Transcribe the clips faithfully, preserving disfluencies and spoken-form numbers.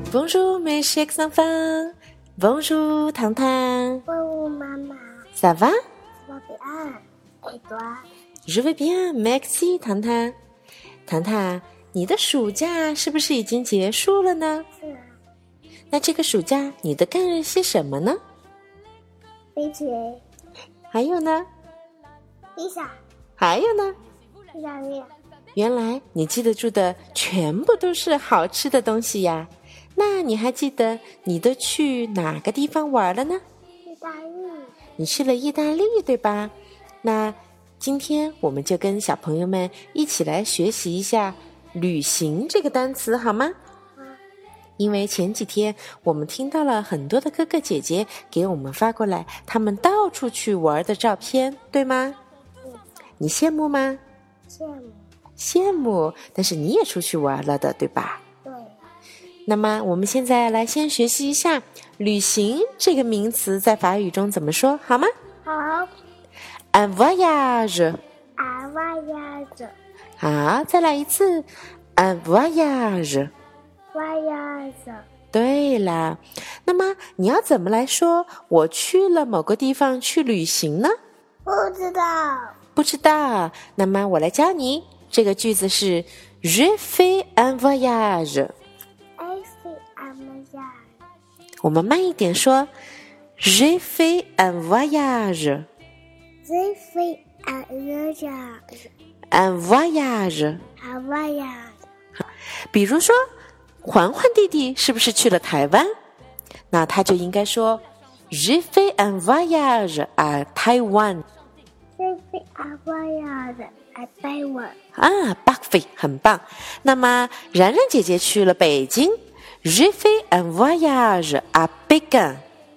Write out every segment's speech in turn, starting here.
Bonjour mes chers enfants. Bonjour 糖糖。 Bonjour maman. Ça va? Ça va bien. Et toi? Je vais bien, merci 糖糖。糖糖，你的暑假是不是已经结束了呢？ 是啊。 那这个暑假你都干了些什么呢？ 飞雪。 还有呢？ 披萨。 还有呢？ 意大利。 原来你记得住的全部都是好吃的东西呀。那你还记得你都去哪个地方玩了呢？ 意大利。 你去了意大利，对吧？那今天我们就跟小朋友们一起来学习一下旅行这个单词，好吗？ 好。 因为前几天我们听到了很多的哥哥姐姐给我们发过来他们到处去玩的照片，对吗？ 嗯。 你羡慕吗？ 羡慕。 羡慕，但是你也出去玩了的，对吧？ 对。 那么我们现在来先学习一下旅行这个名词在法语中怎么说，好吗？ 好。 Un voyage. Un voyage. 好，再来一次 Un voyage. Voyage. 对啦，那么你要怎么来说我去了某个地方去旅行呢？ 不知道。 不知道，那么我来教你，这个句子是 Je fais un voyage. I fais un voyage. 我们慢一点说 Je fais un voyage. Je fais un voyage. Un voyage. Un voyage. 比如说环环弟弟是不是去了台湾？那他就应该说 Je fais un voyage à Taïwan. Je fais un voyage à Taïwan. 啊 parfait 很棒。那么然然姐姐去了北京 Je fais un voyage à Pékin.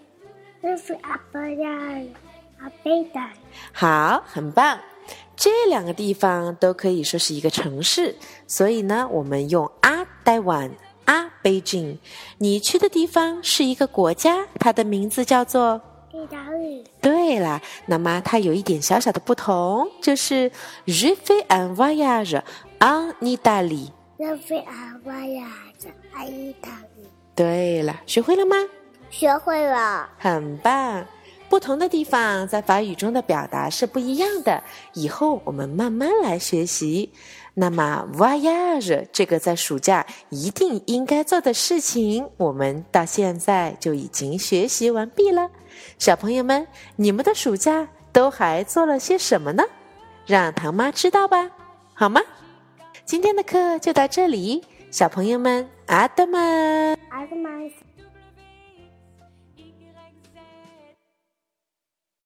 Je fais un voyage à Pékin. 好，很棒。这两个地方都可以说是一个城市，所以呢，我们用 à Taïwan, à Beijing。你去的地方是一个国家，它的名字叫做意大利。 对了，那么它有一点小小的不同，就是 Je fais un voyage en Italie. Je fais un voyage à Italie. 对了，学会了吗？ 学会了。 很棒。不同的地方在法语中的表达是不一样的，以后我们慢慢来学习。那么 voyage 这个在暑假一定应该做的事情，我们到现在就已经学习完毕了。小朋友们，你们的暑假都还做了些什么呢？让唐妈知道吧，好吗？今天的课就到这里，小朋友们，阿德曼。 阿德曼。